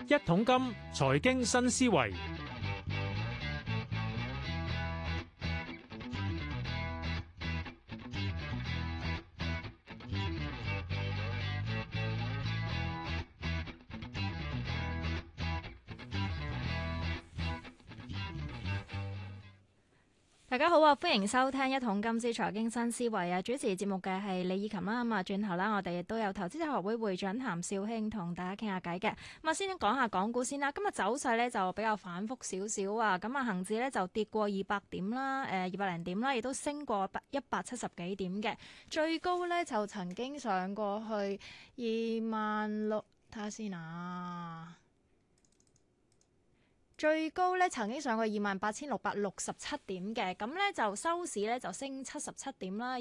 一桶金財經新思維。 大家好啊，歡迎收聽一桶金之財經新思維啊！主持節目嘅係李以琴啦。咁啊，轉頭啦，我哋亦都有投資者學會會長譚紹興同大家傾下偈嘅。咁啊，先講下港股先啦。今日走勢咧就比較反覆少少啊。咁啊，恒指咧就跌過200點啦，200零點啦，亦都升過170幾點嘅。最高咧就曾經上過去26,000，睇下先啊。最高咧曾經上過28,667點嘅，咁咧就收市咧就升77點啦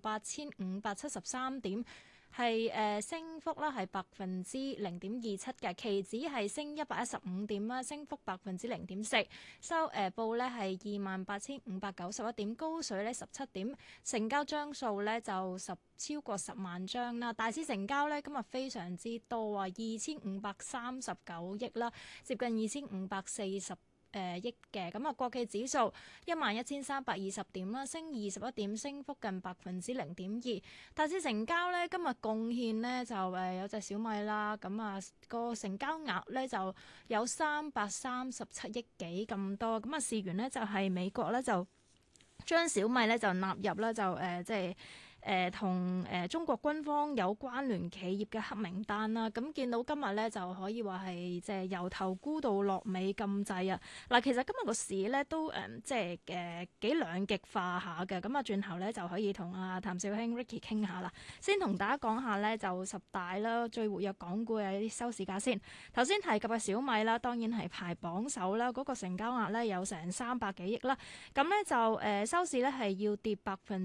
，28,573點。係升幅啦，係0.27%嘅，期指係升115點啦，升幅0.4%，收報咧係28,591點，高水咧17點，成交張數咧就超過10萬張啦，大市成交咧今日非常之多啊，2,539億啦，接近2,540億嘅。咁啊，國企指數11,320點啦，升21點，升幅近0.2%。大市成交咧今日貢獻咧就有隻小米啦，咁啊個成交額咧就有337億幾咁多。咁啊，事緣咧就係美國咧就將小米咧就納入啦，就即係同中國軍方有關聯企業嘅黑名單啦。咁見到今日咧就可以話係即係由頭沽到落尾咁滯啊！嗱，其實今日個市咧都即係幾兩極化下嘅。咁啊，轉頭咧就可以同阿譚紹興 Ricky 傾下啦。先同大家講下咧就十大啦，最活躍港股嘅一啲收市價先。頭先提及嘅小米啦，當然係排榜首啦，嗰個成交額咧有成300幾億啦。咁咧就收市咧係要跌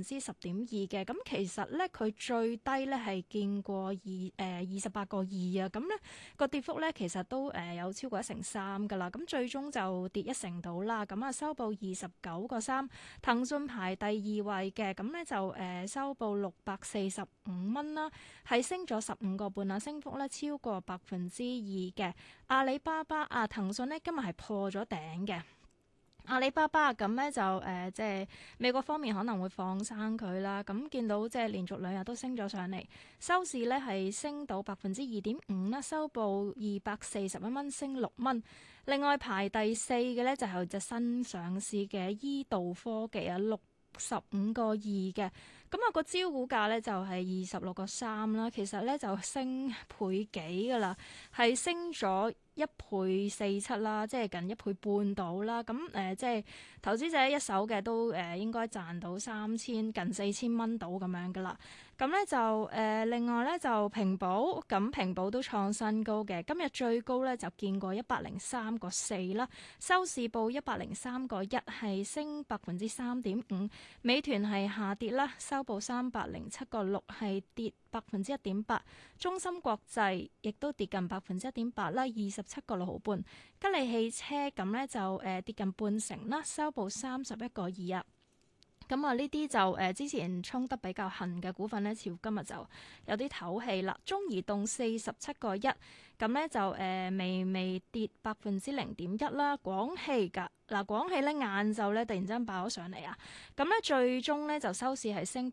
10.2%嘅。咁其實咧佢最低咧係見過28個2啊。咁咧個跌幅咧其實都有超過1成3㗎啦。咁最終就跌1成到啦。咁啊收報29個3。騰訊排第2位嘅，咁咧就收報645蚊啦，係升咗15個半啊，升幅咧超過2%嘅。阿里巴巴啊，騰訊咧今日係破咗頂嘅。阿里巴巴咁咧就即係美國方面可能會放生佢啦，咁見到即係連續2日都升咗上嚟，收市咧係升到2.5%啦，收報241蚊，升6蚊。另外排第4嘅咧就係隻新上市嘅醫渡科技啊，65個2嘅，咁啊個招股價咧就係26個3啦，其實咧就升倍幾噶啦，係升咗1倍47啦，即係近1倍半到啦。咁即係投資者一手嘅都應該賺到3000近4000蚊到咁樣噶啦。咁咧就另外咧就平保，咁平保都創新高嘅，今日最高咧就見過103個4啦，收市報103個1，係升3.5%。美團係下跌啦，收報307個6，係跌1.8%。中芯國際亦都跌近1.8%啦，27個6毫半。吉利汽車咁咧就跌近半成啦，收報31個2啊。咁啊，呢啲就之前衝得比較狠嘅股份咧，似乎今日就有啲唞氣啦。中移動47個1，咁咧就微跌0.1%啦。廣汽㗎嗱，廣汽咧晏晝咧突然之間爆咗上嚟啊！咁咧最終咧就收市係升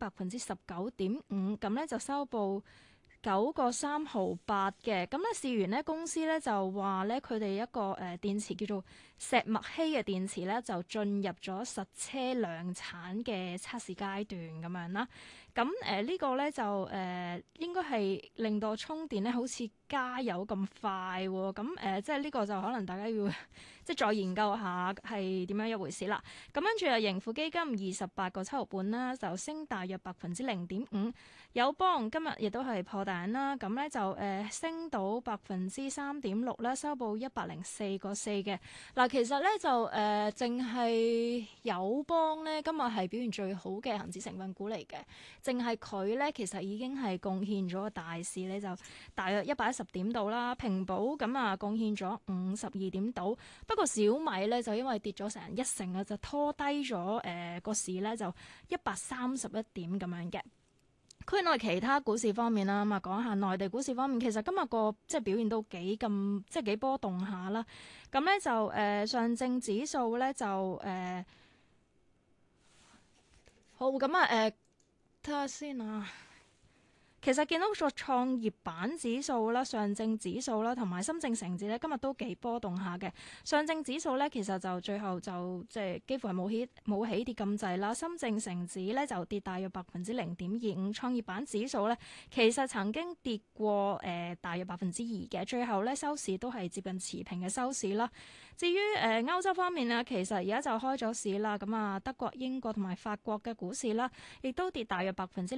19.5%，咁咧就收報9個3毫8嘅。咁咧事緣咧公司咧就話咧佢哋一個電池叫做石墨烯嘅電池咧就進入咗實車量產嘅測試階段咁樣啦。咁呢個咧就應該係令到充電咧好似加油咁快喎。咁即係呢個就可能大家要即係再研究下係點樣一回事啦。咁跟住盈富基金28個7毫半啦，就升大約0.5%。友邦今日亦都係破頂啦，咁咧就升到3.6%啦，收報104個4嘅。嗱，其實咧就淨係友邦咧今日係表現最好嘅恒指成分股嚟嘅，淨係佢咧其實已經係貢獻咗個大市咧就大約110點度啦。平保咁啊貢獻咗52點度，不過小米咧就因為跌咗成1成啊，就拖低咗個市咧就131點咁樣嘅。 區內其他股市方面啦，咁啊講下內地股市方面，其實今日個即係表現都幾波動下啦。咁咧就上證指數咧就好咁啊睇下先啊。其實見到個創業板指數啦、上證指數啦，同埋深證成指咧，今日都幾波動下嘅。上證指數咧，其實就最後就即係幾乎係冇起跌咁滯啦。深證成指咧就跌大約0.25%，創業板指數咧其實曾經跌過大約2%嘅，最後咧收市都係接近持平嘅收市啦。至於歐洲方面啊，其實而家就開咗市啦，咁啊德國、英國同埋法國嘅股市啦，亦都跌大約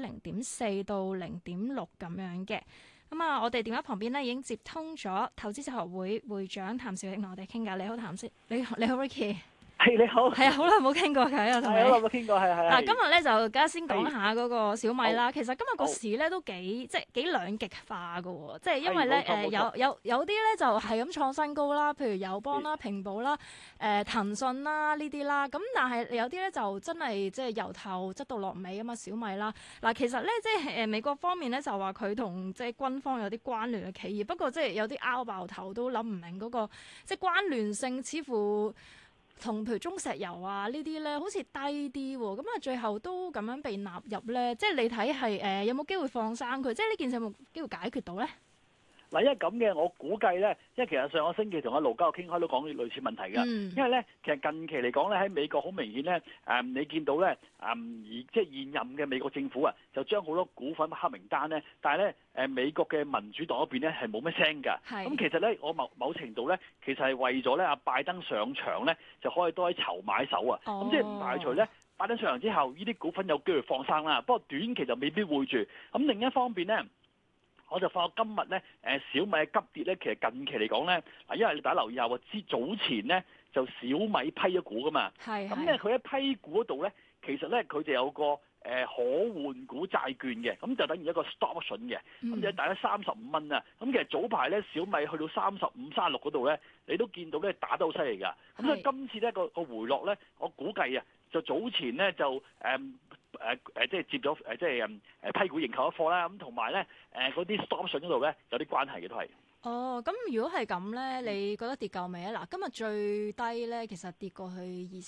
0.4%到0.6咁樣嘅。咁啊，我哋電話旁邊咧已經接通咗投資者學會會長譚紹興同我哋傾偈。你好，譚生，你好 Ricky。 係你好， 係啊，好耐冇傾過偈啊，同你。 好耐冇傾過，係。 嗱，今日咧就而家先講下嗰個小米啦。其實今日個市咧都幾兩極化㗎喎，即係因為咧有啲咧就係咁創新高啦，譬如友邦啦、平保啦、騰訊啦呢啲啦。咁但係有啲咧就真係即係由頭執到落尾啊嘛，小米啦。嗱，其實咧即係美國方面咧就話佢同即係軍方有啲關聯嘅企業，不過即係有啲拗爆頭都諗唔明嗰個即係關聯性，似乎同譬如中石油啊呢啲咧，好似低啲喎，咁啊最後都咁樣被納入咧，即係你睇係有冇機會放生佢？即係呢件事有冇機會解決到咧？ 嗱，因為咁嘅，我估計咧，因為其實上個星期同阿盧家樂傾開都講類似問題㗎。因為咧，其實近期嚟講咧，喺美國好明顯咧，你見到咧，而即係現任嘅美國政府啊，就將好多股份黑名單咧，但係咧，美國嘅民主黨嗰邊咧係冇乜聲㗎。咁其實咧，我某程度咧，其實係為咗咧阿拜登上場咧，就可以多啲籌買手啊。咁即係唔排除咧，拜登上場之後，呢啲股份有機會放生啦。不過短期就未必會住。咁另一方面咧，我就發覺今日咧，小米嘅急跌咧，其實近期嚟講咧，嗱，因為你大家留意下喎，早前咧就小米批咗股噶嘛，咁咧佢喺批股嗰度咧，其實咧佢就有個可換股債券嘅，咁就等於一個 stock option 嘅，咁就大概35蚊啊。咁其實早排咧小米去到35、36嗰度咧，你都見到咧打得好犀利㗎。咁所以今次咧個回落咧，我估計啊，就早前咧就即係接咗即係批股認購一貨啦，咁同埋咧嗰啲 stop option 嗰度咧有啲關係嘅都係。 哦，咁如果係咁咧，你覺得跌夠未啊？嗱，今日最低咧，其實跌過去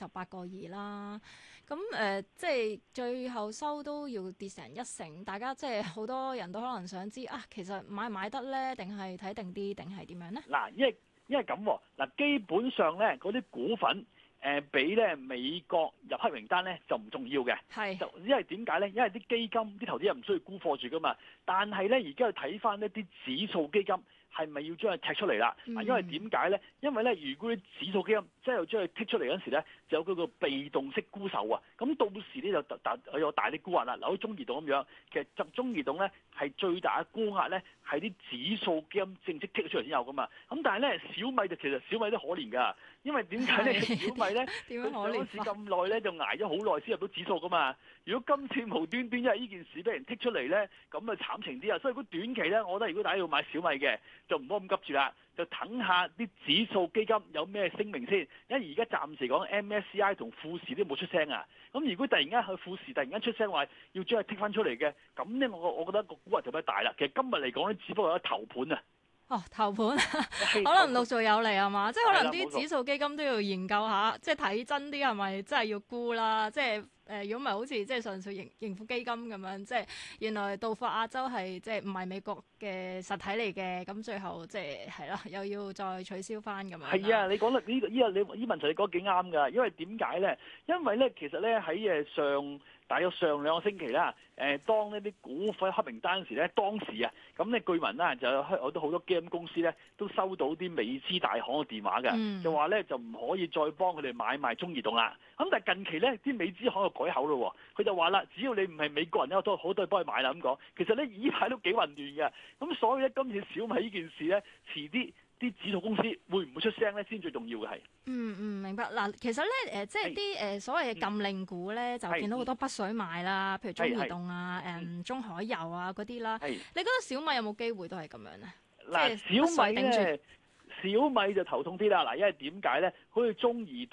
28.2啦。咁即係最後收都要跌成1成，大家即係好多人都可能想知啊，其實買唔買得咧，定係睇定啲，定係點樣咧？ 嗱，因為咁喎，嗱，基本上咧嗰啲股份俾咧美國入黑名單咧就唔重要嘅，就因為點解咧？因為啲基金啲投資人唔需要沽貨住噶嘛，但係咧而家要睇翻一啲指數基金。係咪要將佢踢出嚟啦？因為點解咧？因為咧，如果啲指數基金即係要將佢剔出嚟嗰陣時咧，就有嗰個被動式沽售啊。咁到時咧就有大啲沽壓啦。嗱，好似中移動咁樣，其實集中移動咧係最大嘅沽壓咧，係啲指數基金正式剔咗出嚟先有噶嘛。咁但係咧，小米就其實小米都可憐㗎，因為點解咧？小米咧佢上市咁耐咧，就捱咗好耐先入到指數噶嘛。如果今次無端端因為呢件事俾人剔出嚟咧，咁啊慘情啲啊！所以如果短期咧，我覺得如果大家要買小米嘅，就唔好咁急住啦，就等下啲指數基金有咩聲明先。因為而家暫時講 MSCI 同富時都冇出聲啊。咁如果突然間去富時突然間出聲話要將佢剔翻出嚟嘅，咁咧我覺得個估值就比較大啦。其實今日嚟講咧，只不過有一頭盤啊。 哦，頭盤可能陸續有嚟係嘛？即係可能啲指數基金都要研究下，即係睇真啲係咪真係要沽啦？即係如果唔係好似即係上述盈富基金咁樣，即係原來道富亞洲係即係唔係美國嘅實體嚟嘅，咁最後即係啦，又要再取消翻咁樣。係啊，你講得呢個呢問題你講得幾啱㗎？因為點解咧？因為咧其實咧喺大約上2個星期啦，當呢啲股份黑名單時咧，當時啊，咁咧據聞啦，就有好多基金公司咧都收到啲美資大行嘅電話嘅，就話咧就唔可以再幫佢哋買賣中移動啦。咁但係近期咧，啲美資行又改口咯，佢就話啦，只要你唔係美國人咧，都好多人幫佢買啦咁講。其實咧呢排都幾混亂嘅，咁所以咧今次小米呢件事咧，遲啲指數公司會唔會出聲咧，先最重要嘅係。 明白。嗱，其實咧即係啲所謂嘅禁令股咧，就見到好多北水買啦，譬如中移動啊、中海油啊嗰啲啦。你覺得小米有冇機會都係咁樣咧？ 嗱，小米就頭痛啲啦。嗱，因為點解咧？好似中移動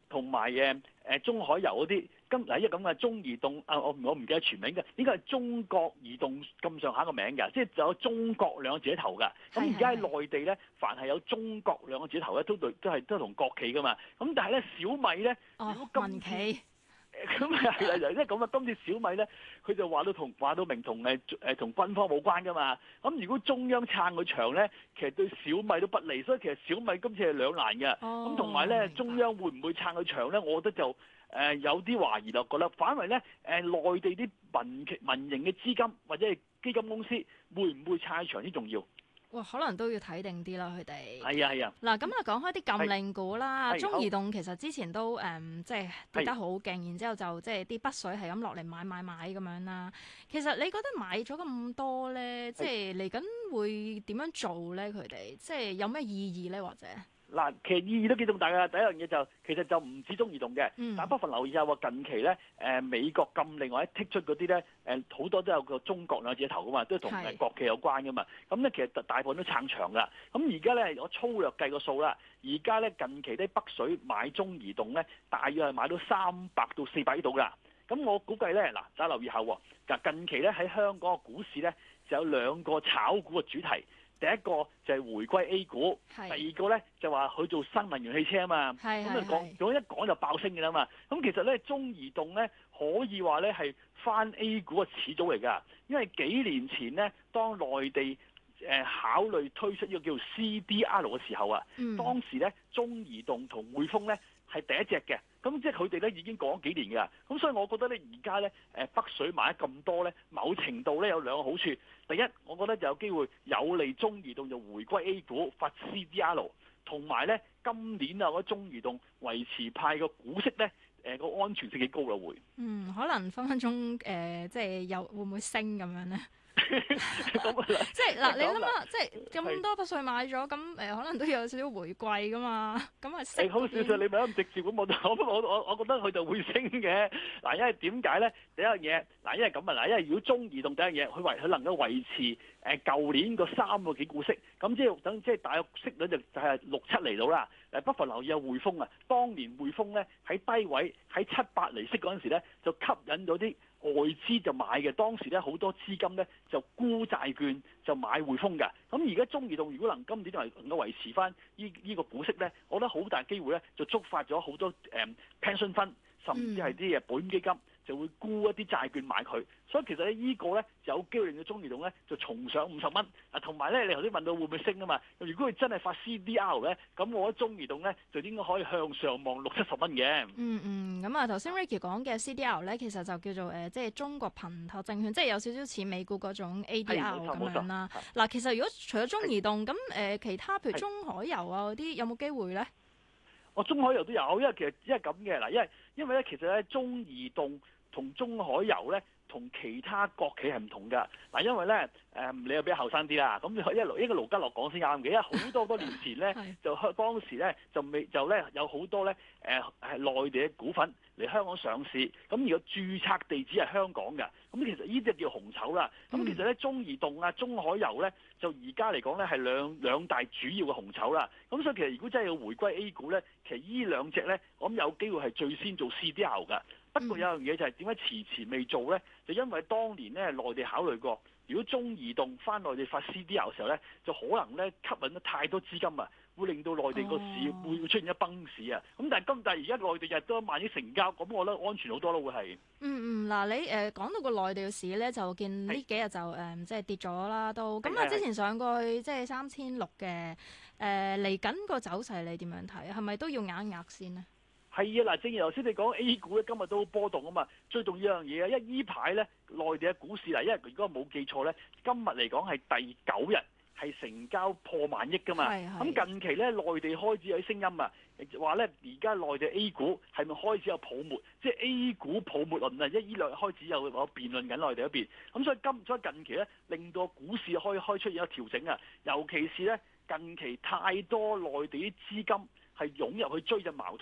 同埋中海油嗰啲。因為咁嘅中移動我唔記得全名嘅，應該係中國移動咁上下個名嘅，即係就有中國兩個字頭㗎。咁而家喺內地咧，凡係有中國兩個字頭咧，都同國企㗎嘛。咁但係咧，小米咧，如果民企。 咁係啦，即係咁啊！今次小米咧，佢就話到明同同軍方冇關噶嘛。咁如果中央撐佢場咧，其實對小米都不利，所以其實小米今次係兩難嘅。咁同埋咧，中央會唔會撐佢場咧？我覺得就有啲懷疑咯，覺得反為咧內地啲民營嘅資金或者係基金公司會唔會撐佢場先重要？ 哇，可能都要睇定啲啦，佢哋。 係啊。 嗱，咁啊講開啲禁令股啦，中移動其實之前都即係跌得好勁，然之後就即係啲北水係咁落嚟買咁樣啦。其實你覺得買咗咁多咧，即係嚟緊會點樣做咧？佢哋即係有咩意義咧？或者？嗱， 其實意義都幾重大㗎。第一樣嘢其實就唔止中移動嘅，但不妨留意下喎。近期咧，美國禁令或者剔出嗰啲咧，好多都有個中國兩個字頭㗎嘛，都同國企有關㗎嘛。咁咧其實大部分都撐場㗎。咁而家咧，我粗略計個數啦，而家咧近期啲北水買中移動咧，大約係買到300到400億度㗎。咁我估計咧，嗱，大家留意下喎。近期咧喺香港嘅股市咧，就有兩個炒股嘅主題。第一個就係回歸 A 股，第二個咧就話佢做新能源汽車啊嘛，咁啊一講就爆升嘅啦嘛。咁其實咧中移動咧可以話咧係翻 A 股嘅始祖嚟㗎，因為幾年前咧當內地考慮推出呢個叫做 CDR 嘅時候啊，當時咧中移動同匯豐咧係第一隻嘅。咁即係佢哋咧已經講咗幾年㗎，咁所以我覺得咧而家咧北水買得咁多咧，某程度咧有兩個好處。第一，我覺得就有機會有利中移動就回歸 A 股發 CDR， 同埋咧今年啊嗰中移動維持派個股息咧個安全性幾高啦會。 可能分分鐘即係有會唔會升咁樣咧？即係嗱，你諗下，即係咁多北水買咗，咁可能都有少少回饋噶嘛，咁啊好少少，你咪咁直接咁我覺得佢就會升嘅。嗱，因為點解咧？第一樣嘢，嗱，因為咁啊，嗱，因為如果中移動第一樣嘢，佢能夠維持舊年個3個幾股息，咁即係大約息率就係6-7厘到啦。不妨留意下匯豐啊，當年匯豐咧喺低位喺7-8厘息嗰陣時咧，就吸引咗啲外資就買嘅，當時咧好多資金咧就沽債券就買匯豐嘅。咁而家中移動如果今年能夠維持翻呢個股息咧，我覺得好大機會咧就觸發咗好多pension fund 甚至係啲保險基金就會沽一啲債券買佢。所以其實咧呢個咧就有機會令到中移動咧就重上50蚊。同埋咧你頭先問到會唔會升啊嘛？如果佢真係發 CDR 咧，咁我覺得中移動咧就應該可以向上望60-70蚊嘅。 咁啊頭先 Ricky 講嘅 CDR 咧，其實就叫做即係中國憑託證券，即係有少少似美股嗰種 ADR 咁樣啦。嗱，其實如果除咗中移動，咁其他譬如中海油啊嗰啲有冇機會咧？ 中海油都有，因為咁嘅嗱，因為咧其實咧中移動同中海油咧同其他國企係唔同㗎。嗱，因為咧你又比較後生啲啦，咁一個盧家樂講先啱嘅，因為好多年前咧就當時咧就有好多咧係內地嘅股份嚟香港上市，咁而個註冊地址係香港嘅，咁其實呢啲就叫紅籌啦。咁其實咧中移動啊、中海油咧就而家嚟講咧係兩大主要嘅紅籌啦。咁所以其實如果真係要回歸 A 股咧，其實呢兩隻咧我諗有機會係最先做 CDR 㗎。不過有樣嘢就係點解遲未做咧？就因為當年咧內地考慮過，如果中移動翻內地發 CDR 嘅時候咧，就可能咧吸引咗太多資金啊，會令到內地個市會出現一崩市啊。咁但係而家內地日都1萬億成交，咁我覺得安全好多咯，會係。 嗱，你講到個內地嘅市咧，就見呢幾日就即係跌咗啦，都咁啊。之前上過去即係3600嘅，嚟緊個走勢你點樣睇？係咪都要壓一壓先呢？ 係啊，嗱，正如頭先你講 A 股咧，今日都好波動啊嘛。最重要一樣嘢啊，因為依排咧內地嘅股市嗱，因為如果冇記錯咧，今日嚟講係第9日係成交破萬億噶嘛。咁近期咧內地開始有啲聲音啊，話咧而家內地 A 股係咪開始有泡沫？即係 A 股泡沫論啊，依兩日開始有辯論緊內地嗰邊。咁所以近期咧令到股市開出現一個調整啊，尤其是咧近期太多內地啲資金係湧入去追隻茅台，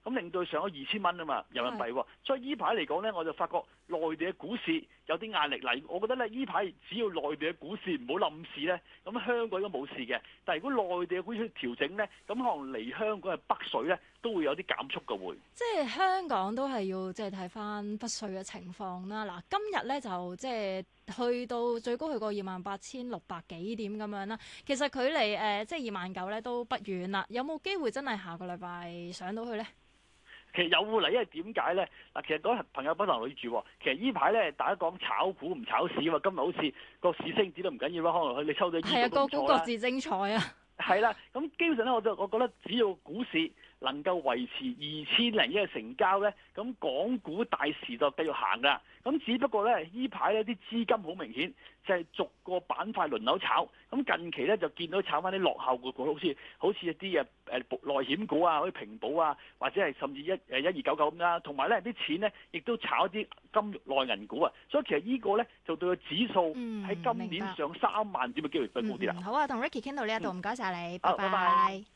咁令到佢上咗2000蚊啊嘛人民幣喎。所以依排嚟講咧，我就發覺內地嘅股市有啲壓力嚟。我覺得咧，依排只要內地嘅股市唔好冧市咧，咁香港應該冇事嘅。但係如果內地嘅股市調整咧，咁可能嚟香港嘅北水咧都會有啲減速嘅會。 即係香港都係要即係睇翻北水嘅情況啦。嗱，今日咧就即係去到最高去過28,600幾點咁樣啦。其實距離即係29,000咧都不遠啦。有冇機會真係下個禮拜上到去咧？ 其實有嚟，因為點解咧？嗱，其實嗰朋友不能女住喎。其實呢排咧，大家講炒股唔炒市啊嘛。今日好似個市升跌都唔緊要啦，可能你抽咗係啊，個股各自精彩啊！ 係啦，咁基本上咧，我覺得只要股市能夠維持2000零億嘅成交咧，咁港股大時就繼續行㗎。咁只不過咧，依排咧啲資金好明顯就係逐個板塊輪流炒。咁近期咧就見到炒翻啲落後嘅股，好似一啲內險股啊，好似平保啊，或者係甚至1299咁啦。同埋咧啲錢咧亦都炒一啲金融內銀股啊。所以其實呢個咧就對個指數喺今年上3萬點嘅機會比較高啲啦。 好啊，同 Ricky 傾到呢一度，唔該晒你，拜拜拜。 拜。